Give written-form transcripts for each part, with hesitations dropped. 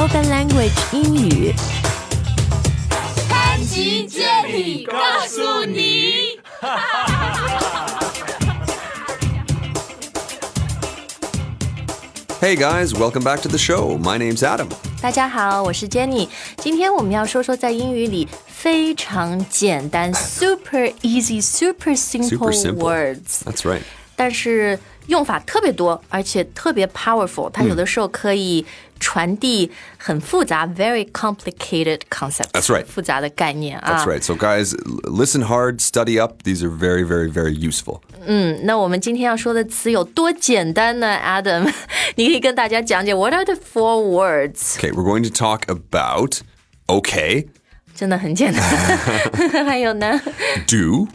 Spoken Language 英语。 潘吉接力告诉你 Hey guys, welcome back to the show. My name's Adam. 大家好，我是 Jenny。今天我们要说说在英语里非常简单 super easy, super simple words. That's right. 但是用法特别多，而且特别 powerful. 它有的时候可以传递很复杂 very complicated concepts. That's right. 复杂的概念啊。 That's right. So guys, listen hard, study up. These are very, very, very useful. 那我们今天要说的词有多简单呢 Adam 你可以跟大家讲解 What are the 4 words? Okay, we're going to talk about okay. 真的很简单还有呢 Do.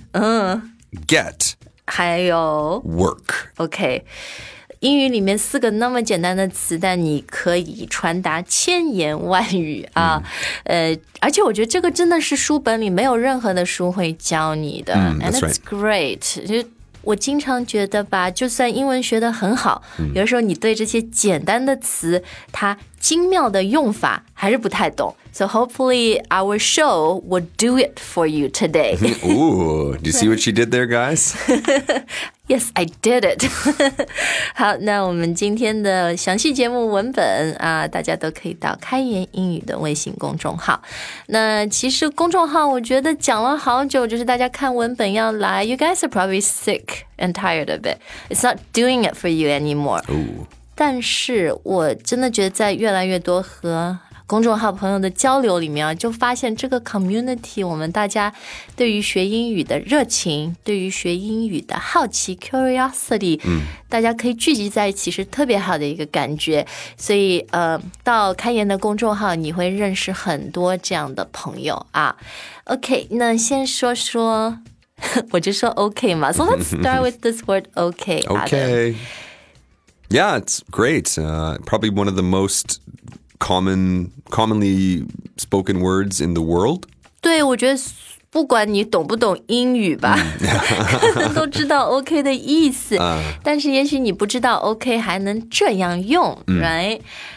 Get. 还有 Work. OK 英语里面4个那么简单的词，但你可以传达千言万语啊。而且我觉得这个真的是书本里没有任何的书会教你的。And it's great. 就我经常觉得吧，就算英文学得很好，有的时候你对这些简单的词，它精妙的用法还是不太懂。So hopefully our show will do it for you today. Ooh, do you see what she did there, guys? Yes, I did it. 好，那我们今天的详细节目文本啊，大家都可以到开言英语的微信公众号。那其实公众号我觉得讲了好久，就是大家看文本要来 You guys are probably sick and tired of it. It's not doing it for you anymore. Ooh. 但是我真的觉得在越来越多和公众号朋友的交流里面啊，就发现这个 community 我们大家对于学英语的热情，对于学英语的好奇 curiosity，大家可以聚集在一起是特别好的一个感觉。所以到开言的公众号你会认识很多这样的朋友啊。OK， 那先说说我就说 OK 嘛。So let's start with this word OK. Okay. Yeah, it's great. Probably one of the most commonly spoken words in the world. 对，我觉得不管你懂不懂英语吧，可能都知道 OK 的意思，但是也许你不知道 OK 还能这样用 right？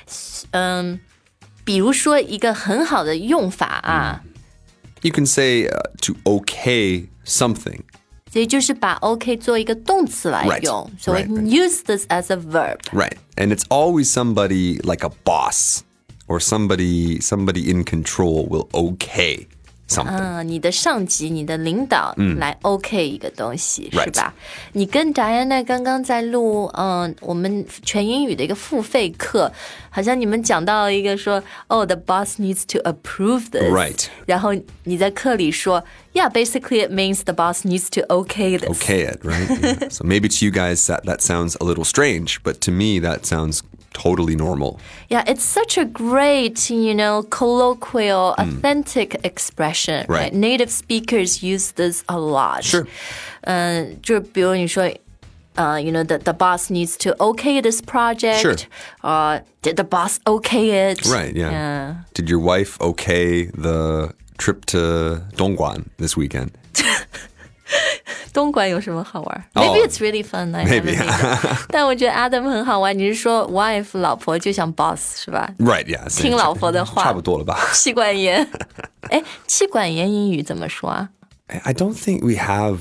比如说一个很好的用法啊 You can say to okay something. 所以就是把 OK 做一个动词来用 Right. So we can use this as a verb. Right. And it's always somebody like a boss or somebody in control will okay something. 你的上级你的领导来 OK 一个东西 Right. 是吧？你跟 Diana 刚刚在录我们全英语的一个付费课，好像你们讲到一个说the boss needs to approve this. Right. 然后你在课里说 Yeah, basically it means the boss needs to okay this. Okay it, right? Yeah. So maybe to you guys that sounds a little strange, but to me that sounds totally normal. Yeah, it's such a great, colloquial, authentic expression. Right. Native speakers use this a lot. Sure. 就比如你说the boss needs to okay this project. Sure. Did the boss okay it? Right, yeah. Did your wife okay the trip to Dongguan this weekend? 东莞有什么好玩 Maybe it's really fun. Maybe. 但我觉得 Adam 很好玩。你是说 wife 老婆就像 boss 是吧 Right, yeah. 听老婆的话差不多了吧妻管严妻管严英语怎么说啊 I don't think we have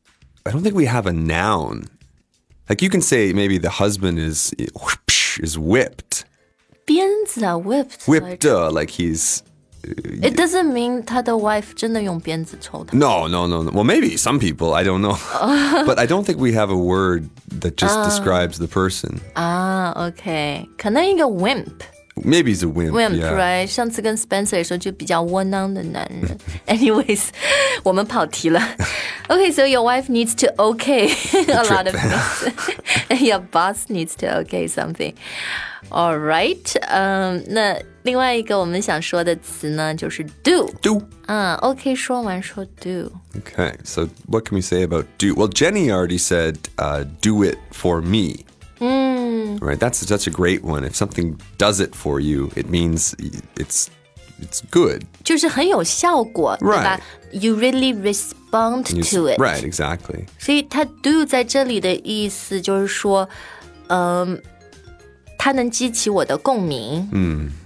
a noun. Like you can say maybe the husband is whipped. 鞭子啊 whipped. Whipped, like he's... It doesn't mean 他的 wife 真的用鞭子抽他 No. Well, maybe some people, I don't know. But I don't think we have a word that just describes the person. OK 可能一个 wimp Maybe he's a wimp, yeah. right 上次跟 Spencer 说就比较窝囊的男人Anyways 我们跑题了Okay, so your wife needs to okay a lot of things and your boss needs to okay something All right 那另外一个我们想说的词呢就是 do OK 说完说 do Okay, so what can we say about do? Well, Jenny already said do it for me. Right, that's such a great one. If something does it for you, it means it's good. 就是很有效果 对吧 You really respond to it Right, exactly. 所以它 do 在这里的意思就是说它能激起我的共鸣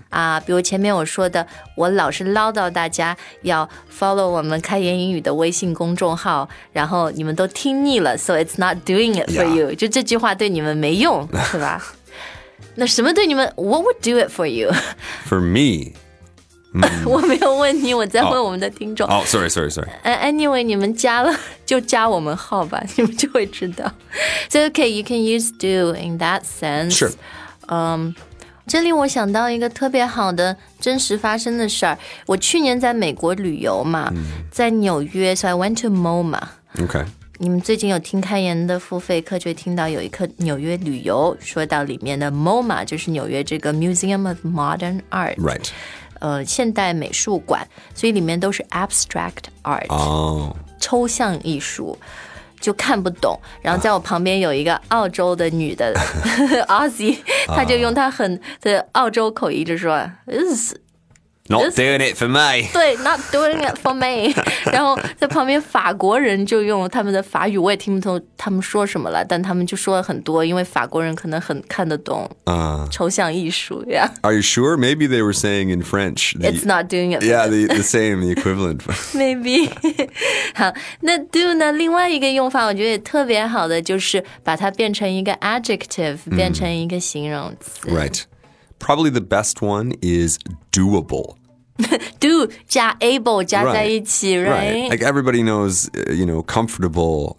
啊，比如前面我说的，我老是唠叨大家要 follow 我们开言英语的微信公众号，然后你们都听腻了 so it's not doing it for you， 就这句话对你们没用，是吧？那什么对你们 What would do it for you? For me, 我没有问你，我在问我们的听众。 sorry. Anyway, 你们加了就加我们号吧，你们就会知道。So okay, you can use do in that sense. Sure. 这里我想到一个特别好的真实发生的事儿。我去年在美国旅游嘛，在纽约 ，so I went to MoMA. Okay. 你们最近有听开言的付费课，就会听到有一课纽约旅游，说到里面的 MoMA 就是纽约这个 Museum of Modern Art. Right. 现代美术馆，所以里面都是 abstract art，抽象艺术。就看不懂，然后在我旁边有一个澳洲的女的Aussie， 她就用她很的澳洲口音就说 Not doing it for me. 对 Not doing it for me 然后在旁边法国人就用他们的法语，我也听不懂他们说什么了，但他们就说了很多，因为法国人可能很看得懂抽象艺术呀。 Are you sure? Maybe they were saying in French. It's not doing it. Yeah, the same, the equivalent. Maybe. 好，那 do 呢？另外一个用法，我觉得也特别好的，就是把它变成一个 adjective，变成一个形容词。 Right. Probably the best one is doable. Do 加 able 加在一起 right? Like everybody knows, comfortable,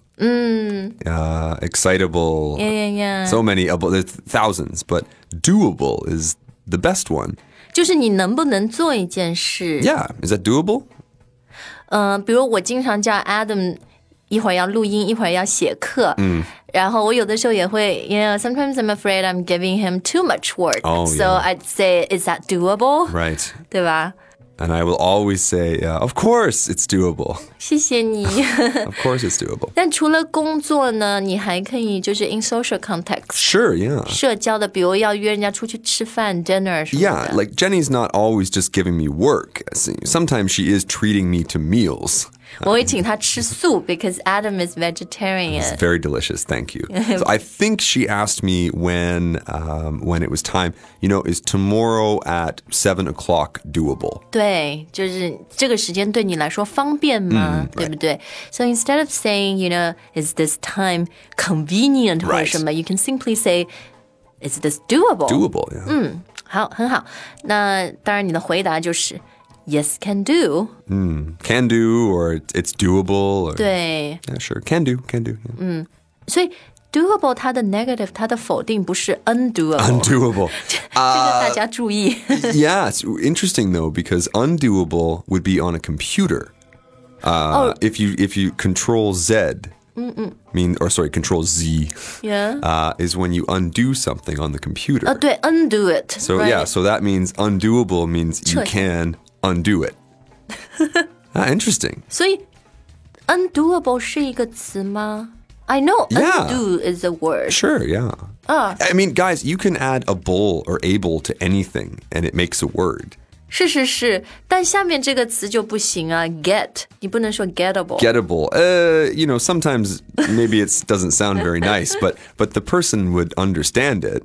excitable, yeah. so many, there's thousands, but doable is the best one. 就是你能不能做一件事 Yeah, is that doable? 比如我经常叫 Adam 一会儿要录音，一会儿要写课，然后我有的时候也会sometimes I'm afraid I'm giving him too much work. So I'd say, is that doable? Right. 对吧？ And I will always say, of course it's doable. 谢谢你。 Of course it's doable. 但除了工作呢，你还可以就是 in social context. Sure, yeah. 社交的，比如要约人家出去吃饭 dinner 什么的。 Yeah, like Jenny's not always just giving me work. Sometimes she is treating me to meals. 我会请他吃素 because Adam is vegetarian. It's very delicious, thank you. So I think she asked me when it was time, is tomorrow at 7 o'clock doable? 对，就是这个时间对你来说方便吗？对不对？ So instead of saying, is this time convenient 或者什么 you can simply say, is this doable? Doable, yeah. 好，很好。那当然你的回答就是Yes, can do. Can do, or it's doable. Or, 对 Yeah, sure. Can do. Yeah. 所以 doable 它的 negative 它的否定不是 undoable. Undoable. 这个大家注意。 Yeah, it's interesting though, because undoable would be on a computer. If you control Z, control Z, Yeah. is when you undo something on the computer. 对 undo it. So right? yeah, so that means undoable means you 撤销 can undo it. Interesting. 所以 undoable 是一个词吗？ I know Yeah. undo is a word. Sure, yeah. I mean, guys, you can add a bull or able to anything, and it makes a word. 是，但下面这个词就不行啊 get 你不能说 gettable. Gettable. Sometimes maybe it doesn't sound very nice, but the person would understand it.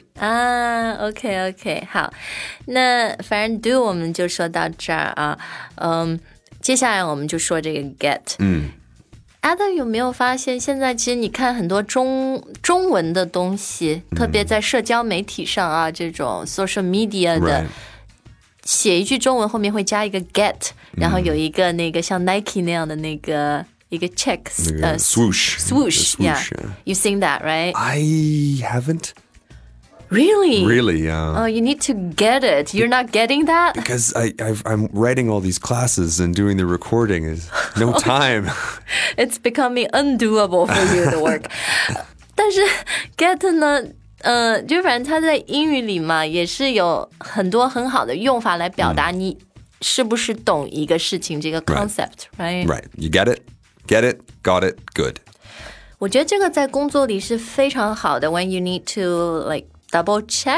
OK 好，那反正 do 我们就说到这儿啊，接下来我们就说这个 get。Adam 有没有发现，现在其实你看很多中文的东西，特别在社交媒体上啊，这种 social media 的。 Right. 写一句中文后面会加一个 get，然后有一个那个像 Nike 那样的那个一个 checks swoosh. swoosh Yeah. You've seen that, right? I haven't. Really? Really, yeah. Oh, you need to get it. You're not getting that? Because I'm writing all these classes and doing the recording is no time. It's becoming undoable for you, the work. 但是 get 呢？就反正它在英语里嘛，也是有很多很好的用法来表达你是不是懂一个事情这个 concept, right? Right. You get it, got it, good. 我觉得这个在工作里是非常好的 when you need to like double check,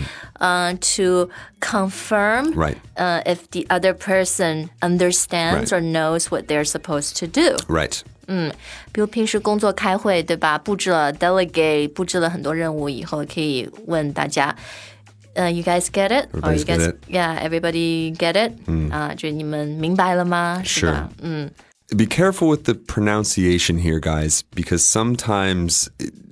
to confirm Right. If the other person understands Right. or knows what they're supposed to do. Right. 比如平时工作开会，对吧？布置了 delegate， 布置了很多任务以后，可以问大家 You guys get it? Or you get guys, it. Yeah, everybody get it? 就你们明白了吗？是吧？ Be careful with the pronunciation here, guys, because sometimes,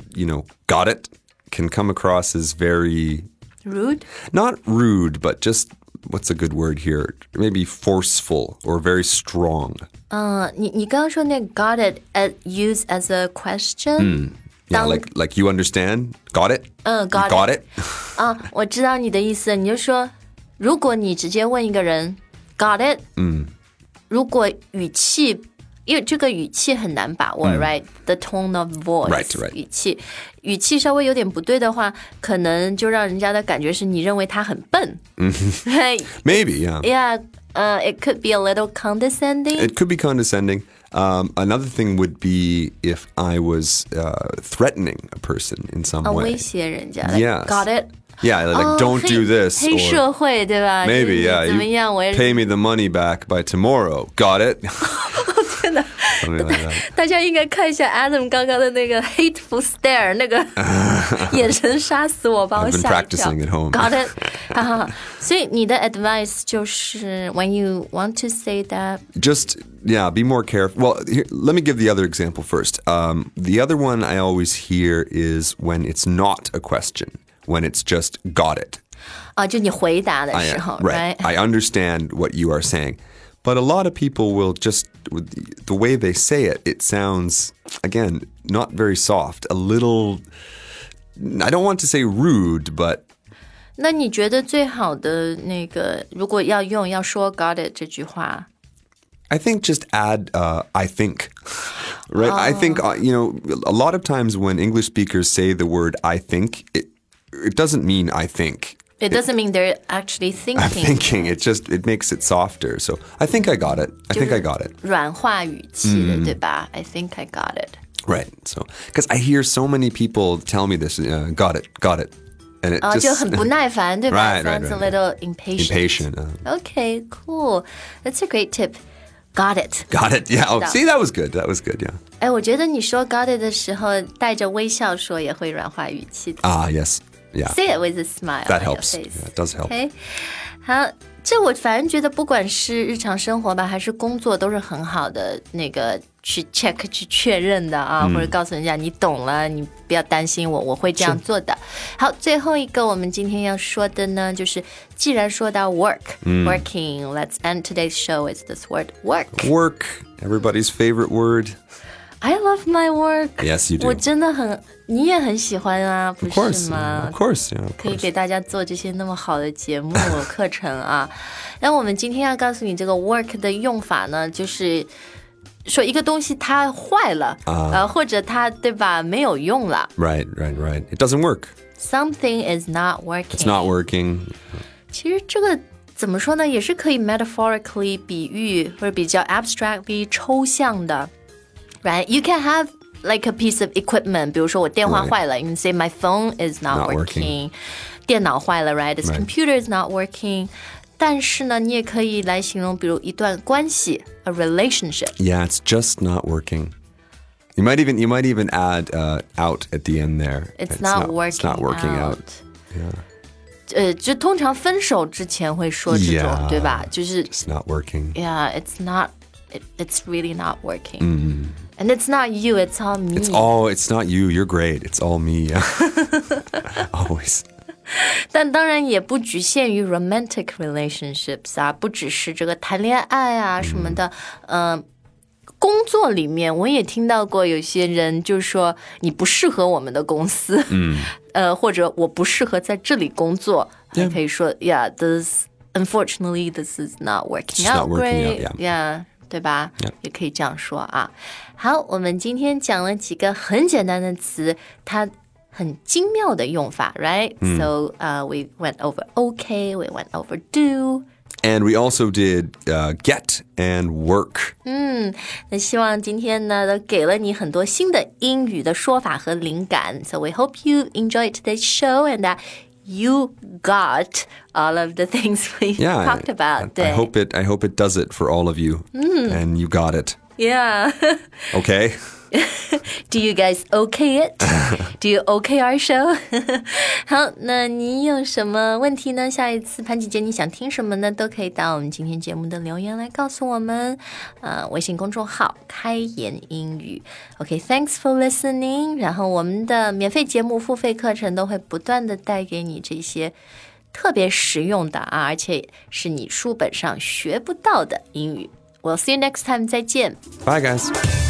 got it can come across as very... Rude? Not rude, but just, what's a good word here? Maybe forceful or very strong. 你刚刚说那个 got it used as a question? Yeah, like you understand? Got it? Got got it? 我知道你的意思，你就说，如果你直接问一个人 got it， 如果语气，因为这个语气很难把握，right? The tone of voice， right. 语气稍微有点不对的话，可能就让人家的感觉是你认为他很笨，right? Maybe, yeah. Yeah, it could be a little condescending. It could be condescending. Another thing would be if I was threatening a person in some way. 威胁人家 Yes. Got it? Yeah, like don't do this. 黑社会对吧 Maybe, 就是 yeah. 怎么样 You 我也 pay me the money back by tomorrow. Got it? 真的 Something like that. 大家应该看一下 Adam 刚刚的那个 hateful stare 那个眼神杀死我把我 I've been 吓一跳 practicing at home. Got it? 哈哈所以你的 advice 就是 when you want to say that Just, yeah, be more careful. Well, here, let me give the other example first. The other one I always hear is when it's not a question, when it's just got it. 就你回答的时候 Right. I understand what you are saying. But a lot of people will just, the way they say it, it sounds, again, not very soft. A little, I don't want to say rude, but 那你觉得最好的那个如果要说 got it 这句话 I think just add, I think, right? I think, a lot of times when English speakers say the word I think, it doesn't mean I think. It doesn't mean they're actually thinking. I'm thinking. It makes it softer. So I think I got it. I think I got it. 软化语气的对吧 I think I got it. Right. So, because I hear so many people tell me this, got it. And it 就 just 很不耐烦对吧 Right, right, Sounds a right. little impatient. impatient. Okay, cool. That's a great tip. Got it. Got it. Yeah. Oh, see, that was good. That was good. Yeah. 我觉得你说 got it 的时候带着微笑说也会软化语气的 Yes. Yeah. Say it with a smile That on your helps. face. Yeah, it does help. Okay. 好，这我反正觉得不管是日常生活吧，还是工作，都是很好的那个去 check 去确认的啊，或者告诉人家你懂了，你不要担心我会这样做的。好，最后一个我们今天要说的呢，就是既然说到 working, let's end today's show with this word work. Work. Everybody's favorite word. I love my work. Yes, you do. 我真的很，你也很喜欢啊，不 Of 是 course. 吗 Of course. Yeah. Of 可以 course. 给大家做这些那么好的节目课程啊。那我们今天要告诉你这个 work 的用法呢，就是说一个东西它坏了，或者它对吧没有用了。 Right. It doesn't work. Something is not working. It's not working. 其实这个怎么说呢，也是可以 metaphorically 比喻或者比较 abstractly 抽象的。Right? You can have like a piece of equipment. 比如说我电话坏了 you can say my phone is not working. 电脑坏了 right? This computer is not working. 但是呢，你也可以来形容，比如一段关系 a relationship. Yeah, it's just not working. You might even add out at the end there. It's not working out. Yeah. 就通常分手之前会说这种 Yeah. 对吧？就是 It's not working. Yeah, it's not. It's really not working. And it's not you, it's all me. It's not you. You're great. It's all me. Always. 但当然也不局限于 romantic relationships 啊，不只是这个谈恋爱啊什么的。工作里面我也听到过有些人就说你不适合我们的公司，或者我不适合在这里工作，还可以说 Yeah, unfortunately this is not working out great. Yeah. 对吧？也可以这样说啊。好，我们今天讲了几个很简单的词，它很精妙的用法 ，right? So, we went over okay, we went over do. And we also did get and work. 那希望今天呢都给了你很多新的英语的说法和灵感。So we hope you enjoyed today's show and that you got all of the things we talked about. I hope it does it for all of you. And you got it. Yeah. Okay? Do you guys okay it? Do you okay our show? 好，那你有什么问题呢？下一次潘姐姐你想听什么呢？都可以到我们今天节目的留言来告诉我们。微信公众号开言英语。OK, thanks for listening. 然后我们的免费节目、付费课程都会不断的带给你这些特别实用的而且是你书本上学不到的英语。We'll see you next time. 再见。 Bye, guys.